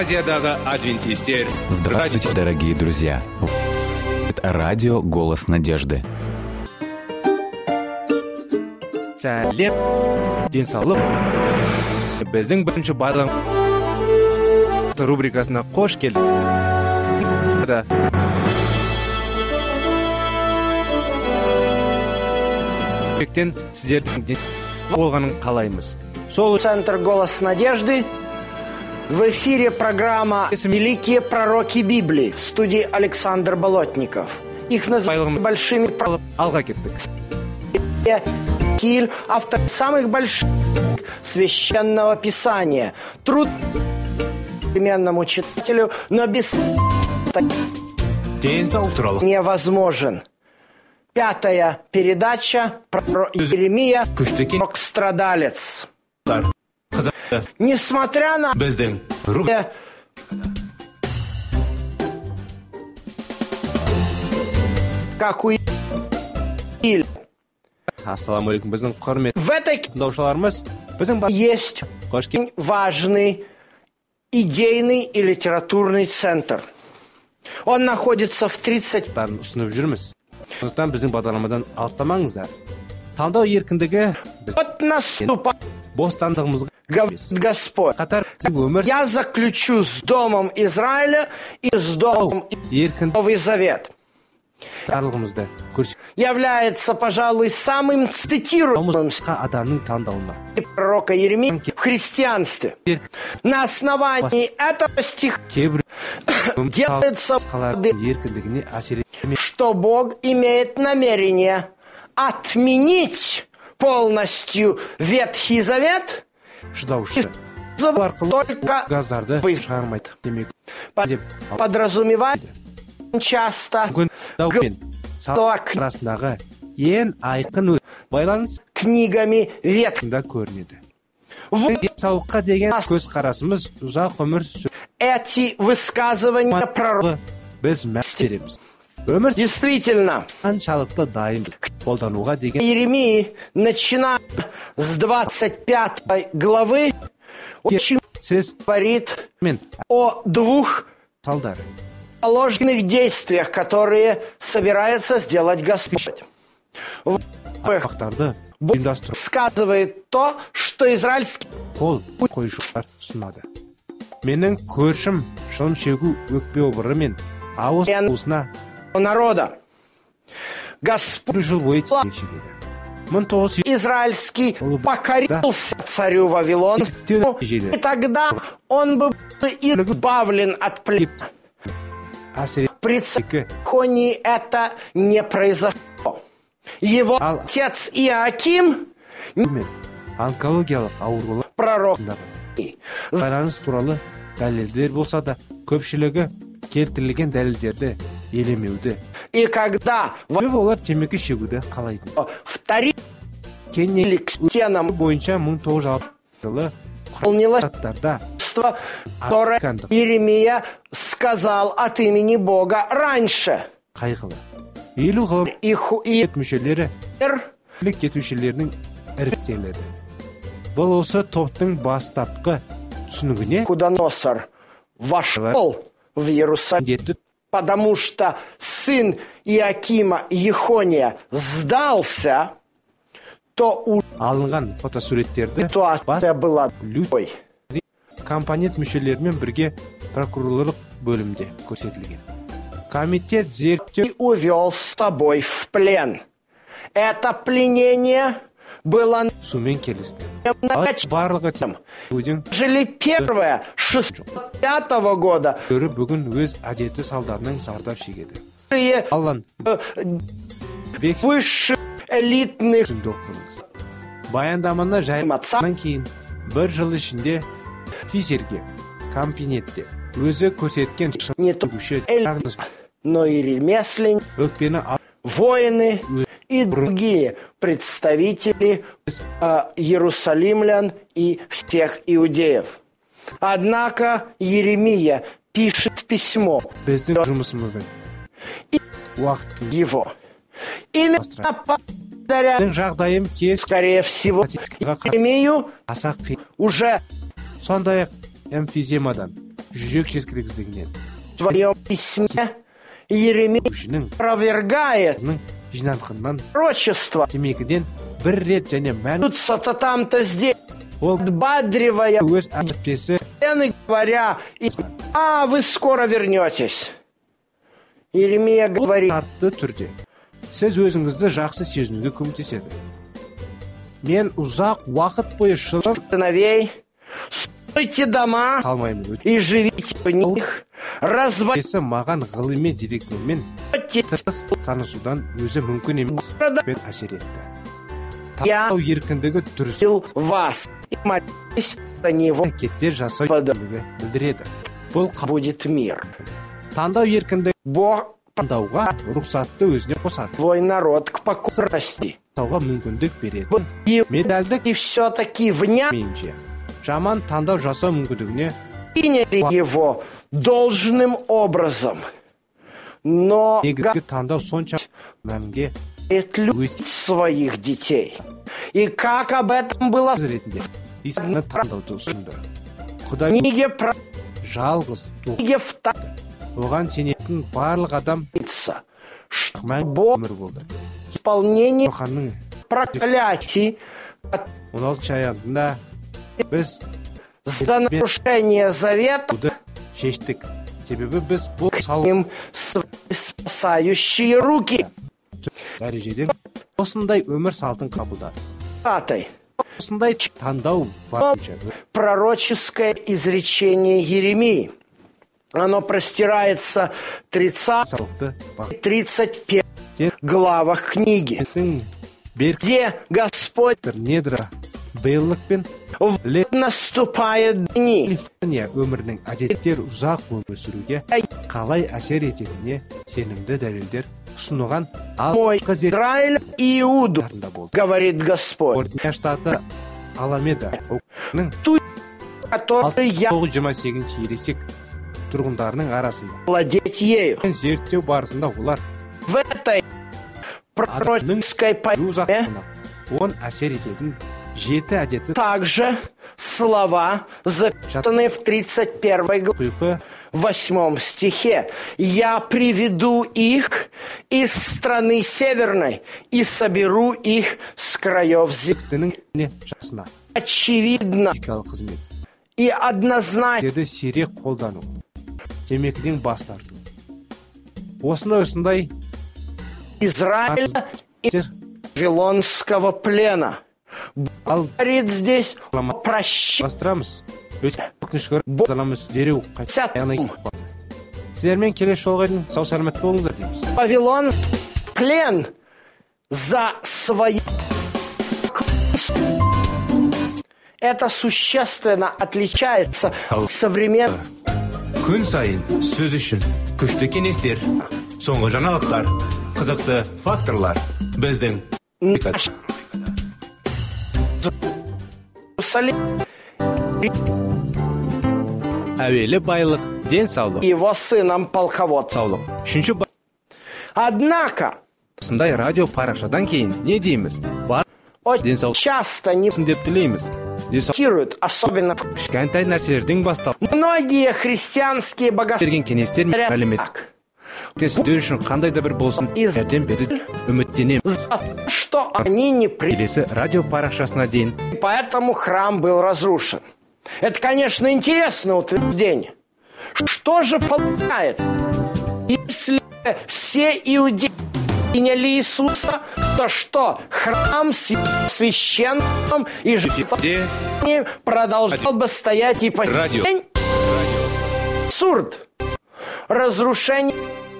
Азиядағы адвентистер. Здравствуйте, дорогие друзья! Это радио «Голос надежды». Сәлем, денсаулық. Біздің бірінші барлық рубрикасына қош келдіңіз. Сіздердің болғанын қалаймыз. Центр «Голос надежды». В эфире программа «Великие пророки Библии». В студии Александр Болотников. Их называют большими пророками. Киль, автор самых больших священного писания. Труд современному читателю, но без невозможен. 5-я передача про Иеремия, пророк-страдалец. Несмотря на как у Иль. Ассаламу алейкум, біздің құрметті В этой тыңдаушыларымыз, есть важный идейный и литературный центр. Он находится в 30... ұсынып жүрміз. Сондықтан біздің бағдарламадан алыстамаңыздар. Таңдау еркіндігі Вот наступает бостандығымызға Господь. Я заключу с домом Израиля и с домом Новый Завет. Является, пожалуй, самым цитируемым пророка Иеремии в христианстве. На основании этого стиха делается что Бог имеет намерение отменить полностью Ветхий Завет, только подразумевает часто книгами Ветхого. Эти высказывания пророка действительно Иеремии, начиная с 25 главы, очень говорит о двух положенных действиях, которые собирается сделать Господь. Бог сказывает то, что израильский народа. Господь израильский покорился царю Вавилону, и тогда он бы был избавлен от плена. При Царихонии это не произошло. Его отец Иоаким, пророк, и когда вторили к стенам выполнилось, которое Иеремия сказал от имени Бога раньше. Навуходоносор вошел в Иерусалим, потому что сын Иоакима Ехония сдался, то ситуация была другой. Компонент мүшелерімен бірге прокурорлық бөлімде көрсетілген. Комитет зерттеу и увел с собой в плен. Это пленение было сумен келісті. Жили первое 605 года. Бүгін өз әдеті салдарынан зардап шегеді. Высших элитных баяндаманы жайыматсынан кейін бір жыл ішінде физерге, компонентте өзі көрсеткен но и ремесленники, воины и другие представители иерусалимлян и всех иудеев. Однако Иеремия пишет письмо и его. Именно благодаря, скорее всего, Иеремию уже сондай-ақ эмфиземадан жүрек жеткіліксіздігінен В своем письме Еремия опровергает жинанқыннан пророчество. темекіден бір рет және мән То там-то здесь, ол подбадривая өз әпкесі стены, говоря, вы скоро вернетесь. Еремия говорит, шартты түрде сіз өзіңізді жақсы сезінуге көмектеседі. Мен ұзақ уақыт бойы сыновей, стройте дома қалмаймын. и живите в них, разводите Маған ғылыми деректермен танысудан өзі мүмкін емес пен әсер етті. Таңдау еркіндігі дұрыс вас и молитесь за него, әрекеттер жасау еркіндігі білдіреді. Бұл будет мир. таңдау еркіндігі Бог таңдауға рұқсатты өзіне қосады. твой народ к покорности. Таңдауға мүмкіндік береді. И Медальдік все-таки вня менше жаман таңдау жасау мүмкіндігіне приняли его должным образом. Но негізгі таңдау сонша мәнге любит своих детей. И как об этом было в ретінде исаны таңдауды ұсынды. Құдай книге про жалғыз книге вторится, оған сенетін барлық адам что мәңгі Бог өмір болды. исполнение Ханның проклятий 16 аягында біз за нарушение завета буды шештік. Себебі біз бұл им свои спасающие руки. дәрежеден осындай өмір салтын қабылдады. Пятый. Осындай таңдау бар. Пророческое изречение Еремии. Оно простирается 30 Салықты и 31 главах книги, где Господь недра бейлік пен наступает дни, өмірінің әдеттер ұзақ өмір сүруге қалай әсер ететініне сенімді дәлелдер ұсынылған мой Израиль и Иуду, болды. говорит Господь, Ортия штаты Аламеда который я 928 ересек тұрғындарының арасында владеть ею. зерттеу барысында олар В этой пророческой поэме он әсер ететін 7 әдеті также слова, записанные в 31 главе, құйқы 8 стихе. «Я приведу их из страны северной и соберу их с краев земли». жасына Очевидно физикалық қызмет и однозначно деді сирек қолдану, темекіден бас тарту. Осындай Израиля и Вавилонского плена. ал Говорит здесь о прощении. бастырамыз. Өткіншкөр боламыз дереу қайтадан. Сіздермен келесі жолға дейін сау сәлемет болыңыздар дейміз. Вавилон плен за свои. Это существенно отличается от современных. Күн сайын сөз үшін күшті кеңестер, соңғы жаңалықтар, қызықты факторлар біздің әуелі байлық, денсаулық, Его сыном полководцем. Үшінші Однако басындай радио парақшадан кейін не дейміз? Бар очень денсаулық часто не деп тілейміз. цитируют, особенно Кішкентай нәрселердің бастап многие христианские богословы. берген кеңестер мен мәлімет. Сіздер үшін қандай да бір болсын жәрдем берді үміттенеміз. За то, что они не приняли, Келесі радио парақшасына дейін поэтому храм был разрушен. Это, конечно, интересное утверждение. Что же получается? Если все иудеи приняли Иисуса, то что? Храм с священным и жертвенным продолжал бы стоять и по Радио. день? Абсурд. Разрушение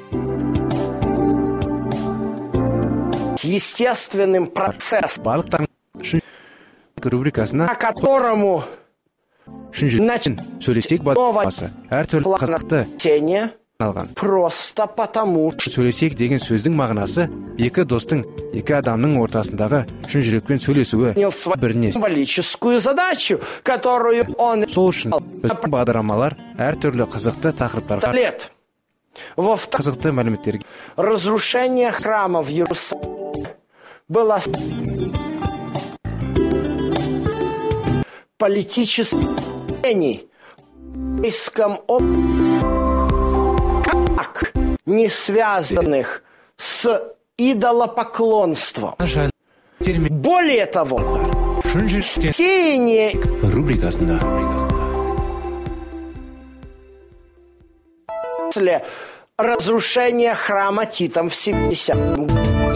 естественным процессом, барлықтарың рубрикасына по которому үшінші сөйлесек басы әртүрлі қызықты тени алған. просто потому, что Сөйлесек деген сөздің мағынасы екі достың, екі адамның ортасындағы шын жүрекпен сөйлесуі выполнил свою біріне. символическую задачу, которую он Сол үшін біздің бағдарламалар әртүрлі қызықты тақырыптарға лет. Во-вторых, қызықты мәліметтерге разрушение храма в Иерусалиме было политических еврейском как не связанных с идолопоклонством. Более того, сеяние рубрикасында после разрушения храма Титом в 70-м.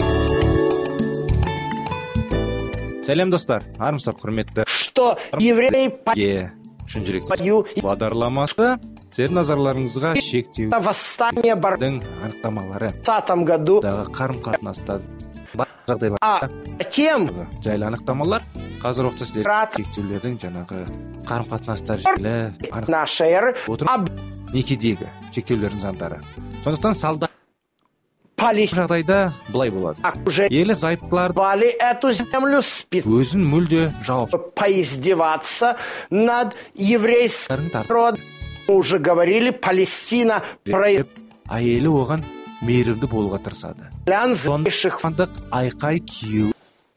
Сәлем достар, армысыздар құрметті. Что евреи шын жүректі бағдарламасы сіздердің назарларыңызға шектеу восстание бардың анықтамалары в 20 году, қарым-қатынастар жағдайлар тем жайлы анықтамалар қазір уақытта сіздер шектеулердің жаңағы қарым-қатынастар жайлы нашей эры некедегі шектеулердің заңдары. Сондықтан салда Палестина жағдайда былай болады. уже Елі зайыптыларды эту землю өзін мүлде жауап поиздеваться над еврейским народом. Мы уже говорили, Палестина әйелі оған мейірімді болуға тырысады. проявляющих Сондықтан айқай кию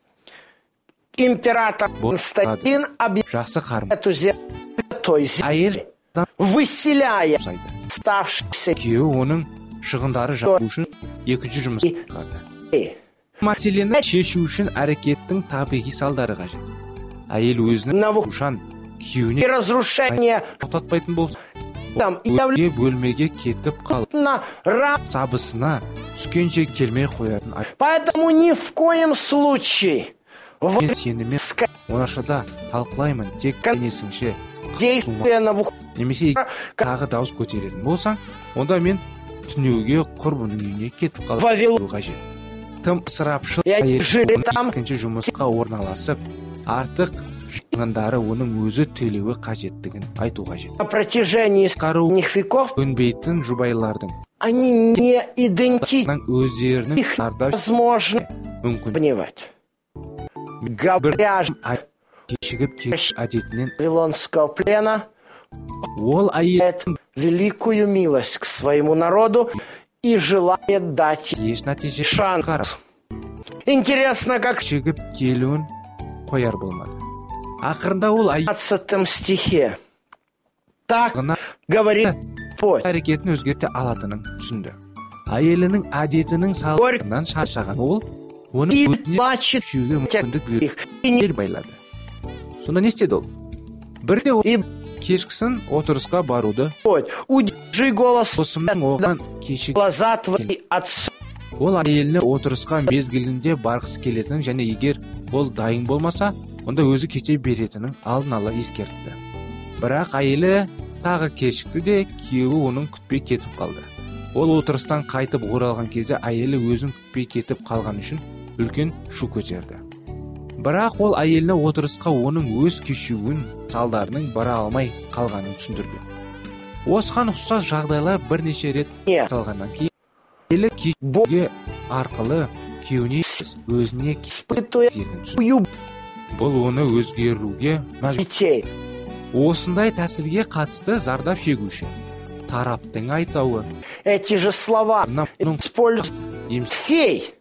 император Константин жақсы қарым эту землю той әйел выселяя жасайды. оставшихся Күйеуі оның шығындары жабу үшін екінші жұмыс қылады. Мәселені шешу үшін әрекеттің табиғи салдары қажет. Әйел өзінің ушан и күйеуіне разрушение тоқтатпайтын болса, там өзге бөлмеге кетіп қалып, на сабысына түскенше келмей қоятын. Поэтому ни в коем случае Мен сенімен оңашада талқылаймын, тек кенесіңше действие на немесе тағы дауыс көтеретін болсаң, онда мен түнеуге құрбының үйіне кетіп қалып қажет. Тым ысырапшыл әйел екінші жұмысқа орналасып, артық шығындары оның өзі төлеуі қажеттігін айту қажет. на протяжении нескольких веков Көнбейтін жұбайлардың они не идентичны, өздерінің их зардап невозможно мүмкін понимать. Говоря же кешігіп кеш әдетінен вавилонского плена, ол әйел великую милость к своему народу и желает дать еш нәтиже шанс. шығарып Интересно, как в кешігіп келуін қояр болмады. Ақырында ол әйел 15 стихе так ғана говорит Господь. әрекетін өзгерте алатынын түсінді. Әйелінің әдетінің салдарынан шаршаған ол оны И өзіне плачет күшеуге мүмкіндік беріп и не ел байлады. Сонда не істеді ол? Бірде ол и кешкісін отырысқа баруды Господь, удержи голос досымның оған кешік глаза твои отцу. ол әйеліне отырысқа мезгілінде барғысы келетінін және егер ол дайын болмаса, онда өзі кете беретінін алдын ала ескертті. Бірақ әйелі тағы кешікті де күйеуі оның күтпей кетіп қалды. Ол отырыстан қайтып оралған кезде әйелі өзін күтпей кетіп қалған үшін үлкен шу көтерді. Бірақ ол әйеліне отырысқа оның өз кешуін салдарының бара алмай қалғанын түсіндірді. Осыған ұқсас жағдайлар бірнеше рет Нет. жасалғаннан кейін әйелі кешуге арқылы күйеуіне өзіне Испытуя түсінді. Бұл оны өзгеруге мәжбүр. детей. Осындай тәсілге қатысты зардап шегуші тараптың айтауы Эти же слова используют фей,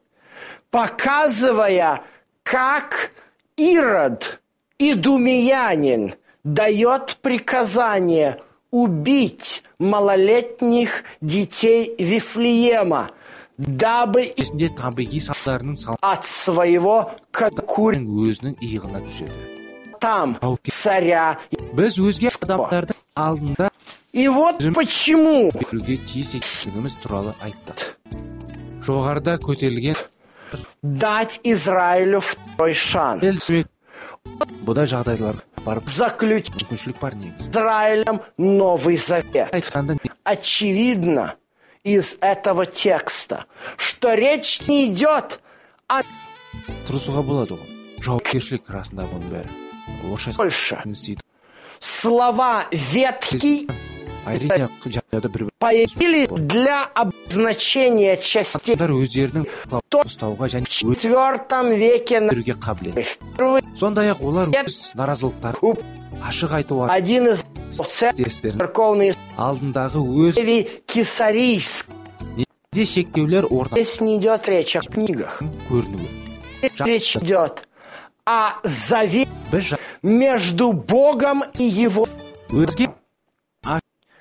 показывая, как Ирод, идумеянин, дает приказание убить малолетних детей Вифлеема, дабы есінде табиғи салдарының от своего салдарының өзінің иығына түседі. там царя. Біз өзге адамдардың алдында И вот почему беруге тиіс екендігіміз туралы айтты. Жоғарыда көтерілген дать Израилю второй шанс. бұда жағдайларға барып Заключить мүмкіншілік бар негізі. с Израилем Новый Завет. Айтқанда Очевидно из этого текста, что речь не идет о тұрысуға болады ғой. Жауапкершілік расында бұның бәрі. Орысша больше. істейді. Слова ветхий Әрине жағдайда бір появились для обозначения частей адамдар өздерінің ұстауға және в IV веке өндіруге қабілет. впервые. Сондай-ақ олар өз наразылықтарын ашық айту Один из серістерін церковных алдындағы өз Кесарийск. де шектеулер Здесь не идет речь о книгах. көрінуі. Речь идет о завете Біз между Богом и его. өзге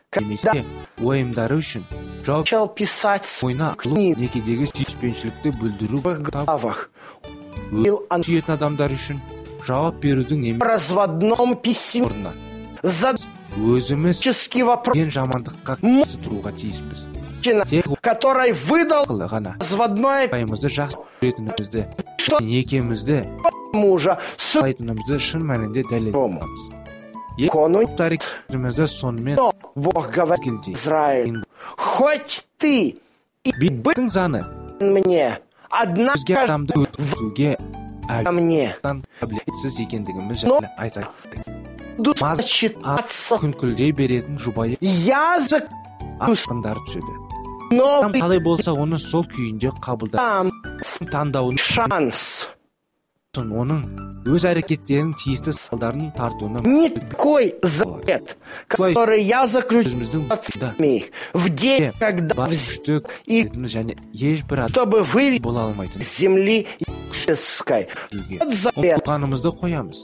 немесе уайымдары үшін жауап начал писать ойна книги некедегі сүйіспеншілікті білдіру в главах, сүйетін адамдар үшін жауап берудің в немесе разводном письме, орнына задаческий өзіміз вопрос, ең жамандыққа қарсы тұруға тиіспіз. который выдал Ақылы ғана разводное пайымызды жақсы көретінімізді, Что? некемізді, мужа с айтынымызды шын мәнінде дәлелдейміз. кону. Тарихымызды сонымен Но Бог говорит келдей. Израилю: хоть ты и Биттің заны мне, однако өзге адамды өткізуге ко мне қабілетсіз екендігіміз жайлы айтады. буду читаться Күнкілдей беретін жұбайы язык ақындары түседі. Адам новый, қалай болса оны сол күйінде қабылдап там таңдауын шанс. оның өз әрекеттерінің тиісті салдарын тартуына Не такой завет, который я заключил өзіміздің да в день, когда бар взял, күштік и және ешбір адам чтобы вывести бола алмайтын с земли египетской. жүзге Вот завет. ұлтанымызды қоямыз.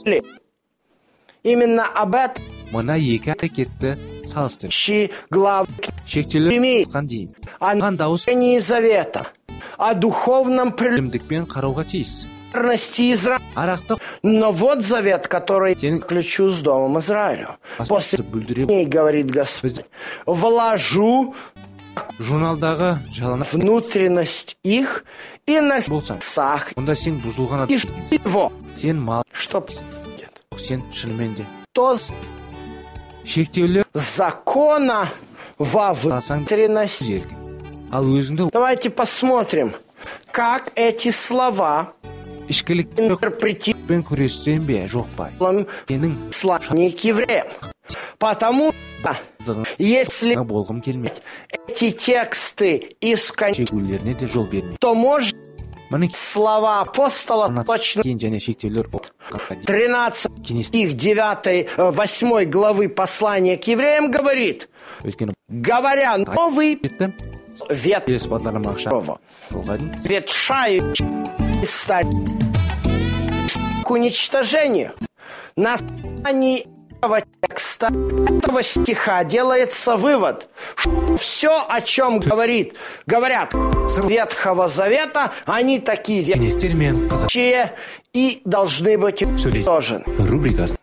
Именно об этом Мына екі әрекетті салыстыр. глава Шектелер Имеет. айтқан дейін. о Қан дауыс нарушении завета, о духовном білімдікпен қарауға тиіс. прелестности Израиля. Арақты Но вот завет, который Сенің- ключу с домом Израилю. После бүлдіре ней, говорит Господь, вложу журналдағы жалана внутренность их и на болсаң, сердцах онда сен бұзылған и адам. его, Сен мал, чтоб сен шынымен де. то Шектеулер закона во алсаң внутренность. еркін. Ал өзіңді Давайте посмотрим, как эти слова ішкілікпен интерпретируем күрестен бе, жоқ па? Сенің послание к евреям. Потому что если болғым келмейді. эти тексты искать, Шегулеріне де жол бермейді. то может Мұның слова апостола точно кейін және шектеулер 13 кеңес стих 8 главы послания к евреям говорит: өйткені говоря новый бетті вет келесі бағдарлама ақша болға дейін ветшающий стать к уничтожению. На основании этого текста, этого стиха делается вывод, что все, о чем говорят Ветхого Завета, они такие кеңестер мен қазақ вещи и должны быть уничтожены. рубрикасы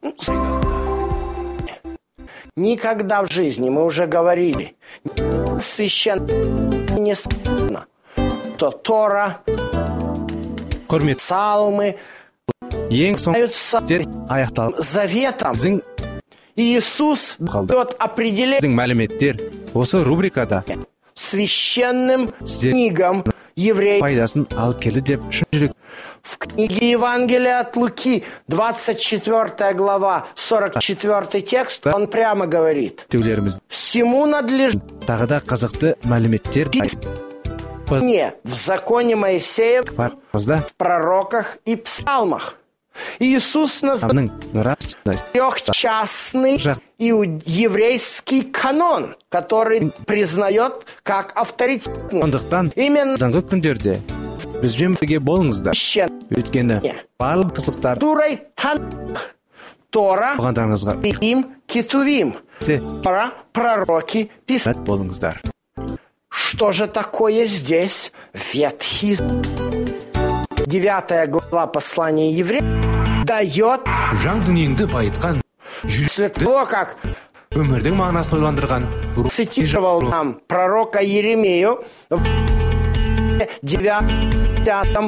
Никогда в жизни, мы уже говорили, священно не сказано, что Тора, құрмет псалмы ең соңғы являются істер аяқталып заветом. біздің Иисус дает определение мәліметтер осы рубрикада священным Здесь- книгам евреев. пайдасын алып келді деп шын жүрек В книге Евангелия от Луки, 24 глава, 44 текст, он прямо говорит: теулеріміз всему надлежит тағы да қызықты мәліметтер мне в законе Моисеев, бар бізда в пророках и псалмах. Иисус назвал трехчастный еврейский канон, который признает как авторитетный. сондықтан Именно жаңғы күндерде бізбен бірге болыңыздар өйткені барлық қызықтар Турой Тора, болғандарыңызға им Кетувим, Тора, пророки, писания. сәт болыңыздар. Что же такое здесь Ветхий Завет? 9 глава послания евреям дает Жан дүниеңді байытқан после того, как өмірдің мағынасын ойландырған цитировал нам пророка Еремею в 9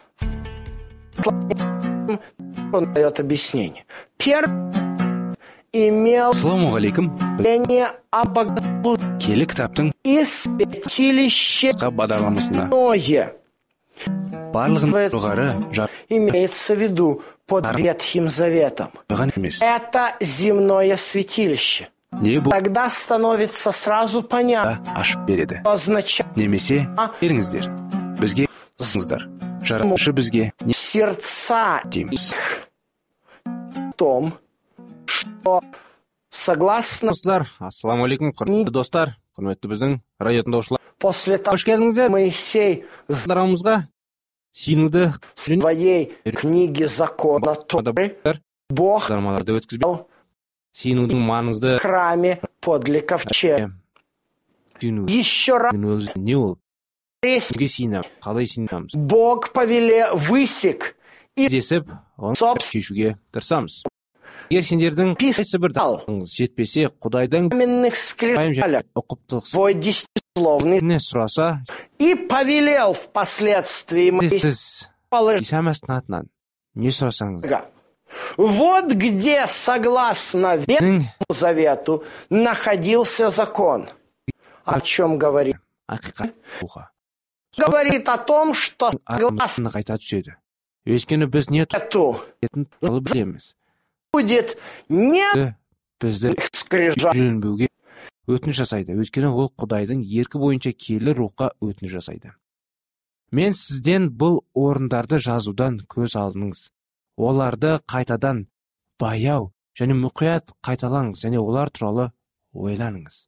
он дает объяснение. Первый имел ассалаумағалейкум мнение о богослужении келі кітаптың и святилище бағдарламасына Ное. барлығын жоғары Имеется в виду под Ветхим Заветом. жарған емес. Это земное святилище. Не бұл Тогда становится сразу понятно, ашып береді. что означает Немесе келіңіздер. Бізге сыңыздар. Жаратушы бізге не сердца дейміз. в том, что согласно Достар, ассалаумағалейкум, құрметті достар, құрметті біздің радио тыңдаушылар. после того, Қош келдіңіздер. Моисей в Сыздарымызға сенуді своей книге закона Торы Бог сыздармаларды өткізбей сенудің маңызды храме подле ковчега. Еще раз не ол кімге сенеміз, қалай сенеміз Бог высек и десіп оны шешуге тырысамыз. Егер сендердің қайсы бір дағдыңыз жетпесе, Құдайдан каменных скрижалях ұқыптылықсыз свой десятисловный не сұраса, и повелел впоследствии сіз Иса Мәсіхтің атынан не сұрасаңыз, вот где, согласно Ветхому Завету, находился закон. О чем говорит? ақиқат болға. Говорит о том, что согласно Согласно қайта түседі. Өйткені біз не Завету тұратын туралы білеміз. будет не Бізді скрижаль, үйренбеуге өтініш жасайды. Өйткені ол Құдайдың еркі бойынша киелі рухқа өтініш жасайды. Мен сізден бұл орындарды жазудан көз алдыңыз. Оларды қайтадан баяу және мұқият қайталаңыз және олар туралы ойланыңыз.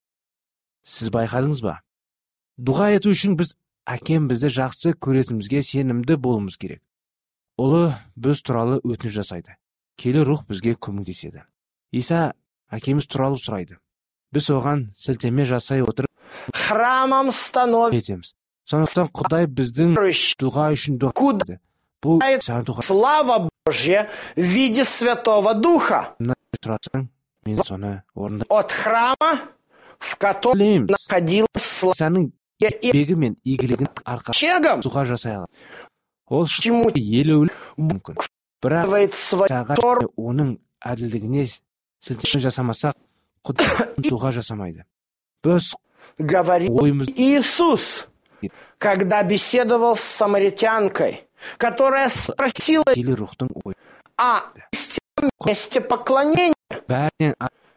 Сіз байқадыңыз ба? Дұға ету үшін біз әкем бізді жақсы көретімізге сенімді болуымыз керек. Олы біз туралы өтініш жасайды. Келі рух бізге көмектеседі. Иса әкеміз туралы сұрайды. Біз оған сілтеме жасай отырып храмом становится етеміз. Сондықтан Құдай біздің дұға үшін дұға етеді. Бұл саған дұға слава Божья в виде Святого Духа сұрасаң, мен соны орындаймын. от храма, в котором Білеміз. находилась слава Исаның и бегі мен игілігін арқасында ковчегом, дұға жасай алады. Ол чему елеулі мүмкін. Бірақ делает свой саған Тор, оның әділдігіне сілтеме жасамасақ, Құдай дұға жасамайды. Біз говорит ойымыз Иисус, когда беседовал с самаритянкой, которая спросила келі рухтың ой. о истинном месте поклонения. Бәрінен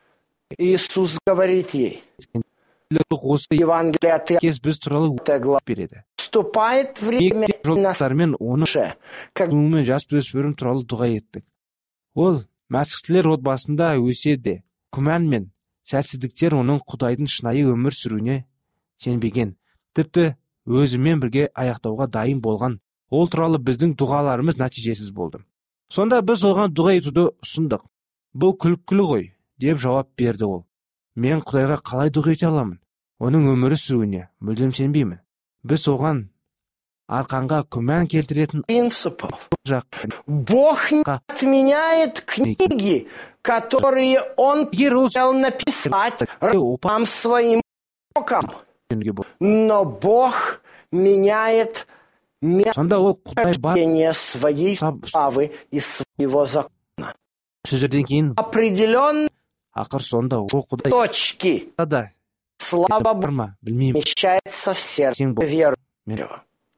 Иисус говорит ей, келі рух осы Евангелие от кез біз туралы Иоанна глава, береді. вступает время Мектеп жолдастарымен оны наше, как мен жас өспірім туралы дұға еттік. Ол мәсіхтілер отбасында өседі. Күмән мен сәтсіздіктер оның Құдайдың шынайы өмір сүруіне сенбеген. Тіпті өзімен бірге аяқтауға дайын болған. Ол туралы біздің дұғаларымыз нәтижесіз болды. Сонда біз оған дұға етуді ұсындық. Бұл күлкілі ғой, деп жауап берді ол. Мен Құдайға қалай дұға ете аламын? Оның өмірі сүруіне мүлдем сенбеймін. Біз оған арқанға күмән келтіретін принципов. жақ. Бог не отменяет книги, которые Он Егер ол хотел написать рабам своим роком, жөнге бол. но Бог меняет Сонда ол Құдай бар мероприятие своей славы и своего закона. сөздерден кейін Определенные ақыр сонда ол Құдай точки да слава бар Богу ма білмеймін вмещается в сердце сен бол. верующего.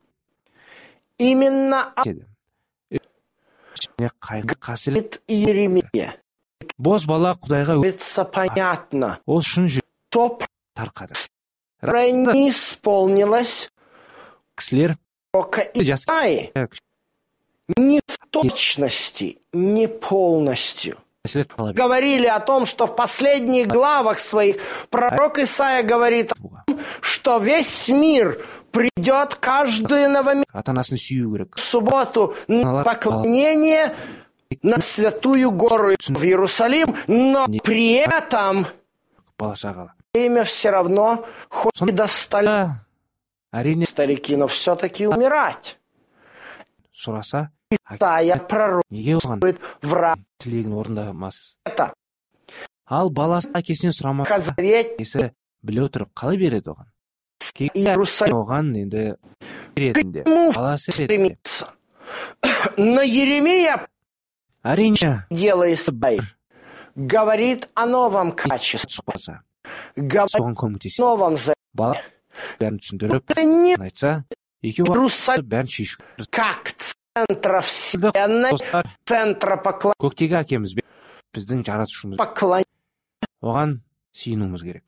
Именно деді. Және қайғы қасірет от Иеремия бос бала Құдайға становится понятно, ол шын жүрек то, тарқады. которое не исполнилось Кісілер пророка Исаии, не в точности, не полностью. кісілер қалап Говорили о том, что в последних главах своих пророк Исаия говорит, что весь мир придет каждую новомесячную ата-анасын сүю керек. субботу на поклонение на Святую Гору в Иерусалим, но при этом Бала шағала. время все равно, хоть и достали Әрине старики, но все-таки умирать. сұраса, Исаия пророк неге оған в раб тілегін орындамас? это. Ал баласы әкесінен сұрамақ Хазарет әкесі біле отырып қалай береді оған? Иерусалим Оған енді беретінде. ему Баласы береді. стремится. Но Еремия, Әрине дело Исаии, говорит о новом качестве, сұқпаса, говорит соған о көмектеседі. новом завете. Бала бәрін түсіндіріп, Это не айтса, екеуі Иерусалим бәрін шешу. как центра вселенной, Достар, центра көктегі әкеміз бен біздің жаратушымыз. поклонения. Оған сүйінуіміз керек.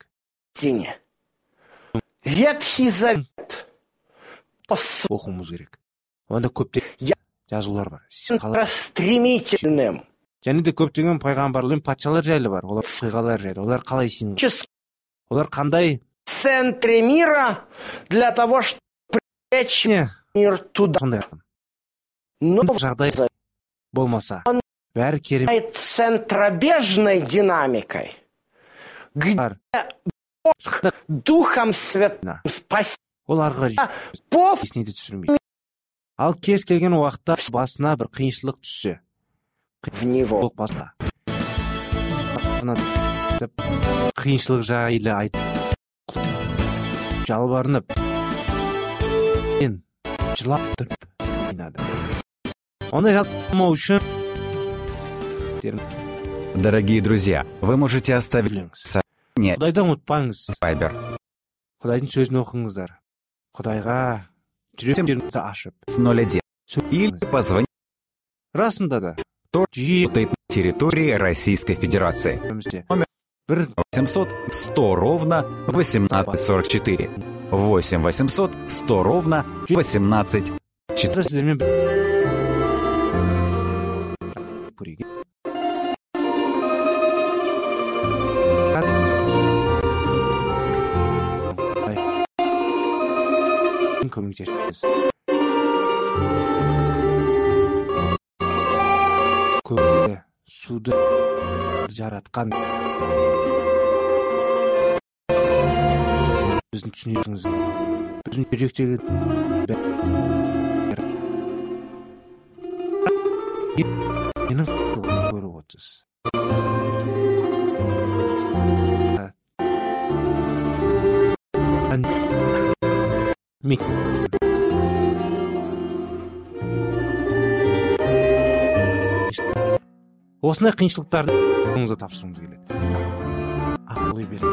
Ветхий Завет по Оқуымыз керек. Онда көптеген Я- жазулар бар. стремительным Және де көптеген пайғамбарлар мен патшалар жайлы бар. Олар оқиғалар жайлы. Олар қалай сүйінген? Олар қандай центре мира для того, чтобы привлечь не мир туда. сондай Но жағдай болмаса, бәрі керемет центробежной динамикой, где Духом Святым спасение ол ары қарай есіне де түсірмейді. Ал кез келген уақытта басына бір қиыншылық түссе, в него. Қиыншылық жайлы айтып, жалбарынып, мен жылап тұрып ойнады. Ондай жалпымау үшін Дорогие друзья, вы можете оставить сообщение Құдайды ұмытпаңыз. Viber Құдайдың сөзін оқыңыздар. Құдайға жүректеріңізді ашып 01 или позвонить расында да жиі на территории Российской Федерации. Номер 800 100 ровно 1844. 8 800 100 ровно 1844. көмектесіңіз. Көкті, суды жаратқан біздің түсінетіңіз, біздің жүректегі менің көріп отырсыз. Осындай қиыншылықтарды қолыңызға тапсыруымыз келеді. Ой беріңіз.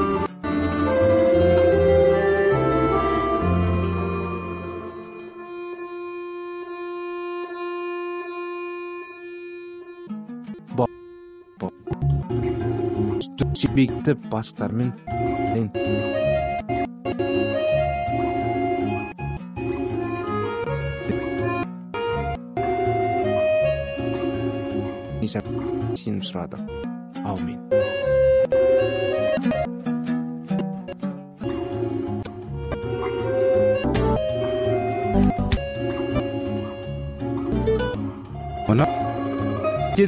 Себекті бастармен сенім сұрадым. Аумин. Мұна деді.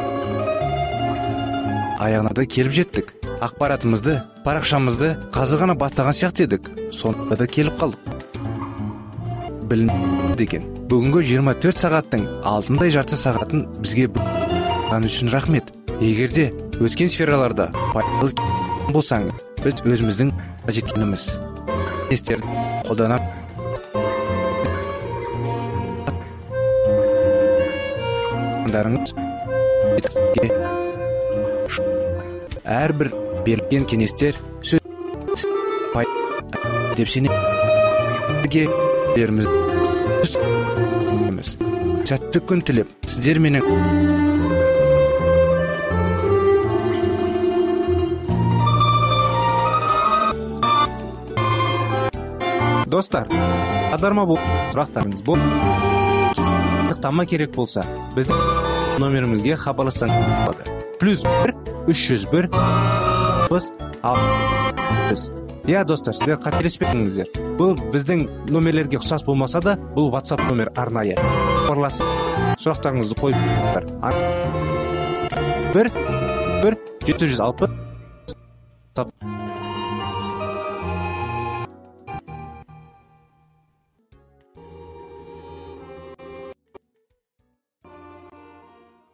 Аяғына да келіп жеттік. Ақпаратымызды, парақшамызды қазір ғана бастаған сияқты едік. Сонда да келіп қалдық. Білім деген. Бүгінгі 24 сағаттың алтындай жарты сағатын бізге бұған үшін рахмет. Егерде өткен сфераларда пайдалы болсаңыз, біз өзіміздің жеткеніміз естерді қолданып әрбір берілген кеңестер сөз деп сенеміз. Сәтті күн тілеп, сіздер менің достар, азарма бұл сұрақтарыңыз бұл тама керек болса, біздің номерімізге хабарлассаңыз болады. +1 301 60. Я, достар, сіздер қателеспеңіздер. Бұл біздің номерлерге ұқсас болмаса да, бұл WhatsApp номер арнайы. Хабарласып, сұрақтарыңызды қойып тұрыңыздар. 1 760